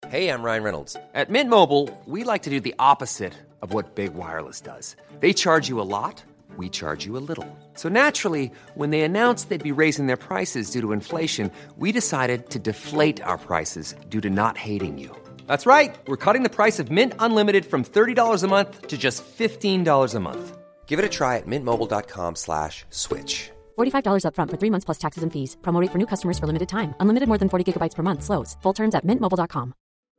Hey, I'm Ryan Reynolds. At Mint Mobile, we like to do the opposite of what Big Wireless does. They charge you a lot, we charge you a little. So naturally, when they announced they'd be raising their prices due to inflation, we decided to deflate our prices due to not hating you. That's right. We're cutting the price of Mint Unlimited from $30 a month to just $15 a month. Give it a try at mintmobile.com/switch. $45 up front for 3 months plus taxes and fees. Promo rate for new customers for limited time. Unlimited more than 40 gigabytes per month. Slows full terms at mintmobile.com.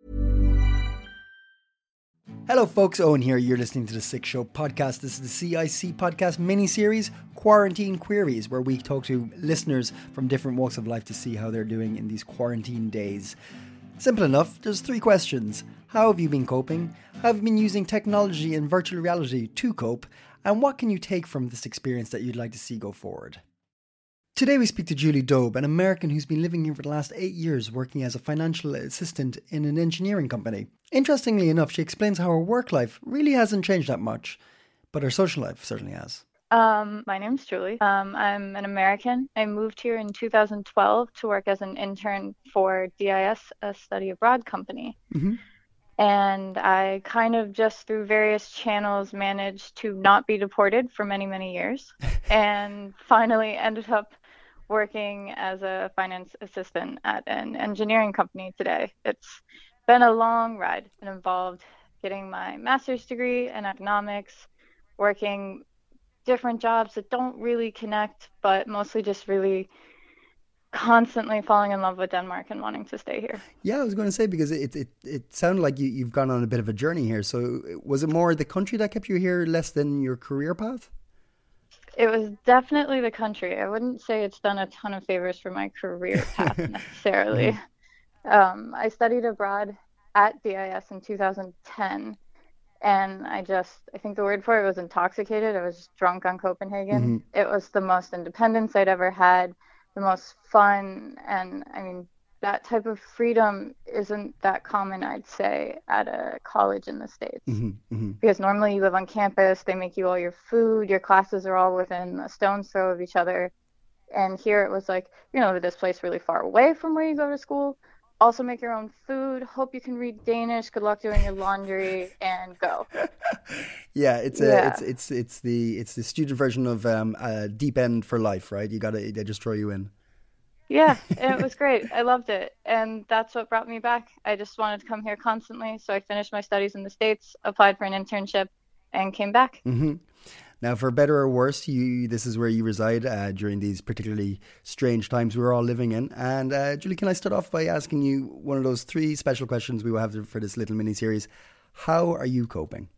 Hello folks, Owen here. You're listening to The Sick Show podcast. This is the CIC podcast mini-series, Quarantine Queries, where we talk to listeners from different walks of life to see how they're doing in these quarantine days. Simple enough, there's 3 questions. How have you been coping? How have you been using technology and virtual reality to cope? And what can you take from this experience that you'd like to see go forward? Today we speak to Julie Dobe, an American who's been living here for the last 8 years working as a financial assistant in an engineering company. Interestingly enough, she explains how her work life really hasn't changed that much, but her social life certainly has. My name's Julie. I'm an American. I moved here in 2012 to work as an intern for DIS, a study abroad company. Mm-hmm. And I kind of just through various channels managed to not be deported for many, many years and finally ended up working as a finance assistant at an engineering company today. It's been a long ride. It involved getting my master's degree in economics, working different jobs that don't really connect, but mostly just really constantly falling in love with Denmark and wanting to stay here. Yeah, I was going to say, because it sounded like you've gone on a bit of a journey here. So was it more the country that kept you here less than your career path? It was definitely the country. I wouldn't say it's done a ton of favors for my career path necessarily. I studied abroad at DIS in 2010, and I think the word for it was intoxicated. I was just drunk on Copenhagen. Mm-hmm. It was the most independence I'd ever had, the most fun, and I mean, that type of freedom isn't that common, I'd say, at a college in the States. Mm-hmm, mm-hmm. Because normally you live on campus, they make you all your food, your classes are all within a stone's throw of each other. And here it was like, this place really far away from where you go to school. Also make your own food, hope you can read Danish, good luck doing your laundry, and go. Yeah, it's the student version of Deep End for life, right? They just throw you in. Yeah, it was great. I loved it. And that's what brought me back. I just wanted to come here constantly. So I finished my studies in the States, applied for an internship, and came back. Mm-hmm. Now, for better or worse, this is where you reside during these particularly strange times we're all living in. And Julie, can I start off by asking you one of those 3 special questions we will have for this little mini-series? How are you coping?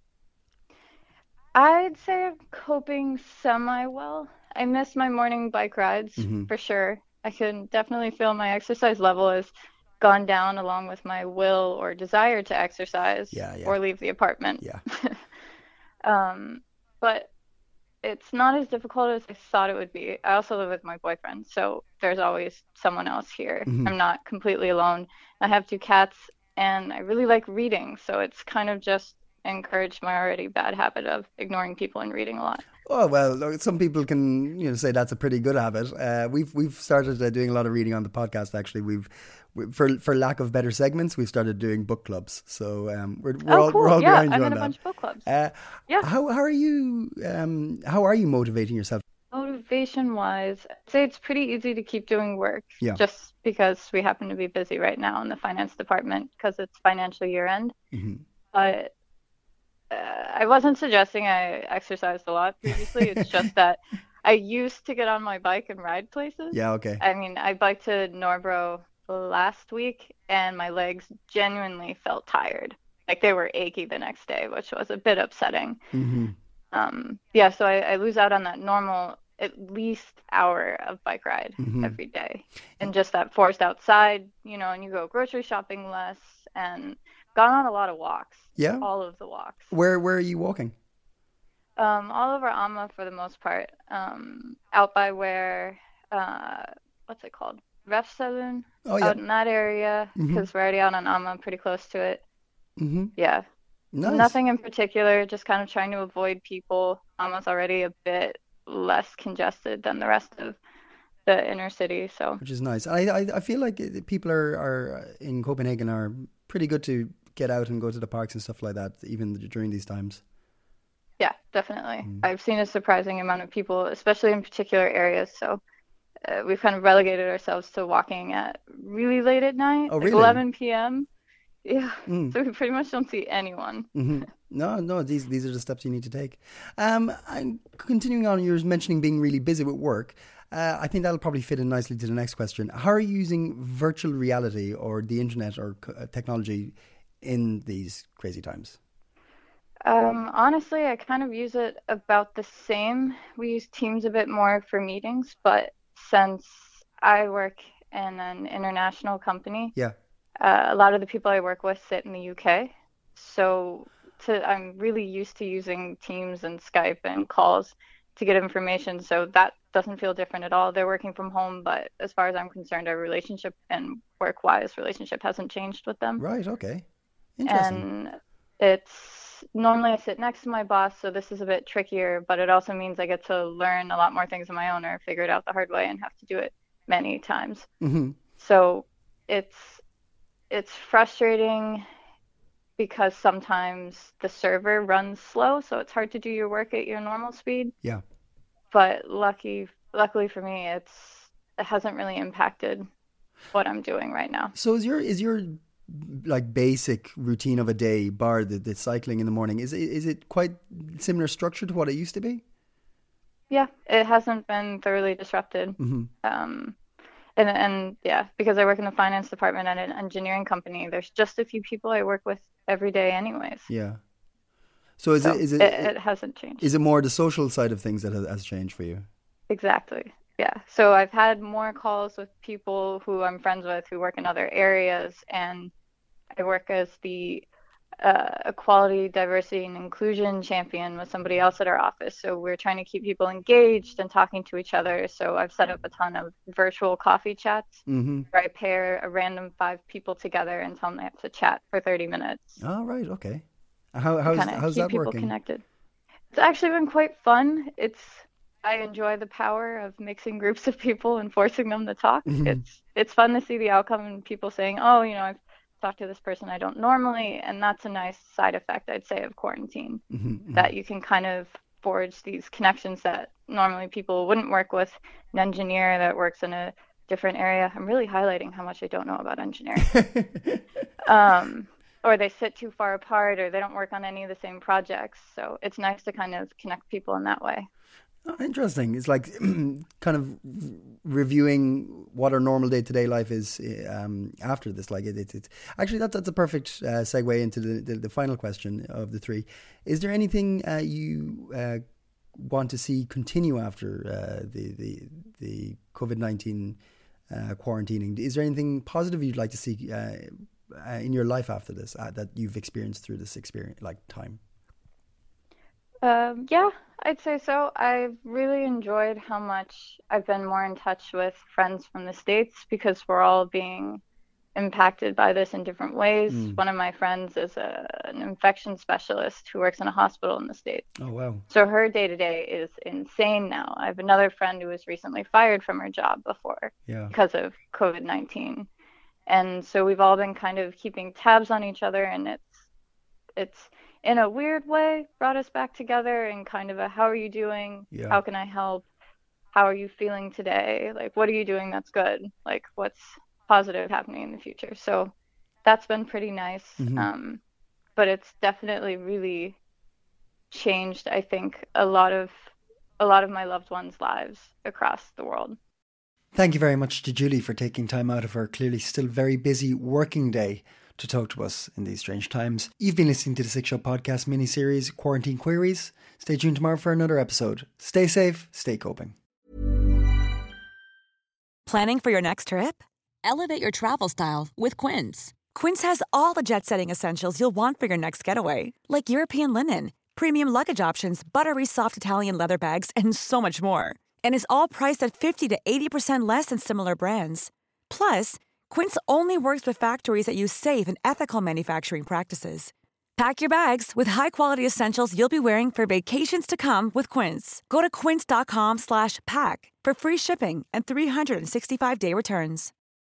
I'd say I'm coping semi-well. I miss my morning bike rides, for sure. I can definitely feel my exercise level has gone down along with my will or desire to exercise or leave the apartment. Yeah. But it's not as difficult as I thought it would be. I also live with my boyfriend, so there's always someone else here. Mm-hmm. I'm not completely alone. I have 2 cats, and I really like reading, so it's kind of just encouraged my already bad habit of ignoring people and reading a lot. Oh, well, some people can say that's a pretty good habit. We've started doing a lot of reading on the podcast. Actually, for lack of better segments, we've started doing book clubs. So we're all behind you on that. I'm in a bunch of book clubs. How are you? How are you motivating yourself? Motivation-wise, I'd say it's pretty easy to keep doing work. Yeah. Just because we happen to be busy right now in the finance department because it's financial year end. Mm-hmm. But I wasn't suggesting I exercised a lot previously. It's just that I used to get on my bike and ride places. Yeah, okay. I mean, I biked to Norbro last week, and my legs genuinely felt tired. Like they were achy the next day, which was a bit upsetting. Mm-hmm. So I lose out on that normal at least hour of bike ride every day. And just that forced outside, and you go grocery shopping less and gone on a lot of walks. Yeah. All of the walks. Where are you walking? All over Amma for the most part. Out by where, what's it called? Refsaloon. Oh, yeah. Out in that area, because we're already out on Amma, pretty close to it. Mm-hmm. Yeah. Nice. Nothing in particular, just kind of trying to avoid people. Amma's already a bit less congested than the rest of the inner city, so. Which is nice. I feel like people are in Copenhagen are pretty good to get out and go to the parks and stuff like that, even during these times. Yeah, definitely. I've seen a surprising amount of people, especially in particular areas. So we've kind of relegated ourselves to walking at really late at night, Oh, like really? 11 p.m. Yeah, so we pretty much don't see anyone. No, these are the steps you need to take. I'm continuing on. You're mentioning being really busy with work. I think that'll probably fit in nicely to the next question. How are you using virtual reality or the internet or technology in these crazy times? Honestly, I kind of use it about the same. We use Teams a bit more for meetings, but since I work in an international company, Yeah. a lot of the people I work with sit in the UK. So I'm really used to using Teams and Skype and calls to get information. So that doesn't feel different at all. They're working from home, but as far as I'm concerned, our relationship and work-wise relationship hasn't changed with them. Right. Okay. Interesting. And it's normally I sit next to my boss, so this is a bit trickier, but it also means I get to learn a lot more things on my own or figure it out the hard way and have to do it many times. So it's frustrating because sometimes the server runs slow, so it's hard to do your work at your normal speed. Yeah. But luckily for me, it hasn't really impacted what I'm doing right now. So is your like basic routine of a day, bar the cycling in the morning, is it quite similar structure to what it used to be? Yeah, it hasn't been thoroughly disrupted. And yeah, because I work in the finance department at an engineering company, there's just a few people I work with every day anyways. Yeah. So it hasn't changed. Is it more the social side of things that has changed for you? Exactly. Yeah. So I've had more calls with people who I'm friends with who work in other areas, and I work as the equality, diversity, and inclusion champion with somebody else at our office. So we're trying to keep people engaged and talking to each other. So I've set up a ton of virtual coffee chats where I pair a random 5 people together and tell them they have to chat for 30 minutes. Oh, right. Okay. How's that people working? Connected. It's actually been quite fun. I enjoy the power of mixing groups of people and forcing them to talk. It's fun to see the outcome and people saying, oh, I've talked to this person I don't normally, and that's a nice side effect, I'd say, of quarantine, that you can kind of forge these connections that normally people wouldn't work with. An engineer that works in a different area. I'm really highlighting how much I don't know about engineering. Or they sit too far apart, or they don't work on any of the same projects. So it's nice to kind of connect people in that way. Oh, interesting. It's like kind of reviewing what our normal day-to-day life is after this. Like it's actually that's a perfect segue into the final question of the 3. Is there anything you want to see continue after the COVID-19 quarantining? Is there anything positive you'd like to see in your life after this that you've experienced through this time? Yeah, I'd say so. I've really enjoyed how much I've been more in touch with friends from the States because we're all being impacted by this in different ways. One of my friends is an infection specialist who works in a hospital in the States. Oh, wow. So her day-to-day is insane now. I have another friend who was recently fired from her job before because of COVID-19. And so we've all been kind of keeping tabs on each other, and it's in a weird way brought us back together and kind of a how are you doing? Yeah. How can I help? How are you feeling today? Like, what are you doing that's good? Like, what's positive happening in the future? So that's been pretty nice. But it's definitely really changed, I think, a lot of my loved ones' lives across the world. Thank you very much to Julie for taking time out of her clearly still very busy working day to talk to us in these strange times. You've been listening to the Sick Show podcast mini-series, Quarantine Queries. Stay tuned tomorrow for another episode. Stay safe, stay coping. Planning for your next trip? Elevate your travel style with Quince. Quince has all the jet-setting essentials you'll want for your next getaway, like European linen, premium luggage options, buttery soft Italian leather bags, and so much more. And is all priced at 50 to 80% less than similar brands. Plus, Quince only works with factories that use safe and ethical manufacturing practices. Pack your bags with high-quality essentials you'll be wearing for vacations to come with Quince. Go to quince.com/pack for free shipping and 365-day returns.